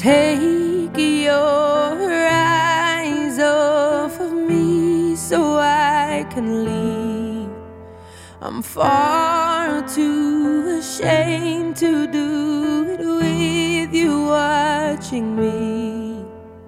Take your eyes off of me so I can leave. I'm far too ashamed to do it with you watching me.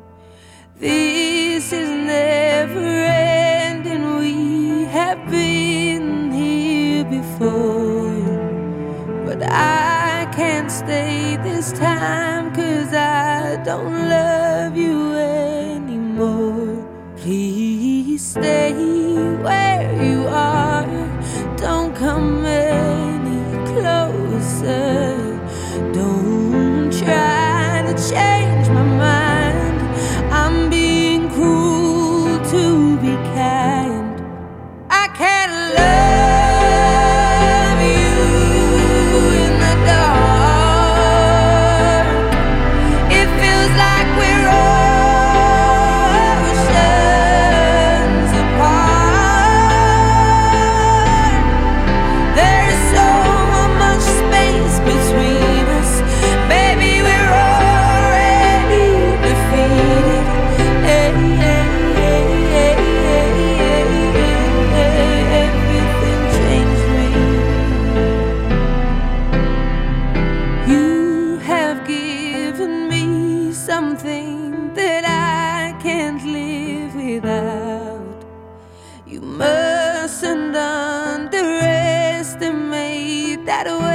This is never ending, we have been here before. But I can't stay this time, 'cause I don't love you anymore. Please stay where you are, don't come any closer. Don't try to change my mind, I'm being cruel to be kind. I can't love you in the dark. It feels like we're oceans apart. There's so much space between us, baby, we're already defeated. Everything changed me. You have given me something that I can't live without. You mustn't underestimate that way